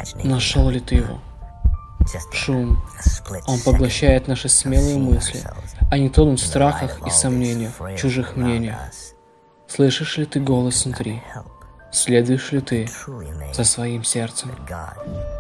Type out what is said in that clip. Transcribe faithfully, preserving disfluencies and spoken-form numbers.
Нашел ли ты его? Шум. Он поглощает наши смелые мысли. Они тонут в страхах и сомнениях, чужих мнениях. Слышишь ли ты голос внутри? Следуешь ли ты за своим сердцем?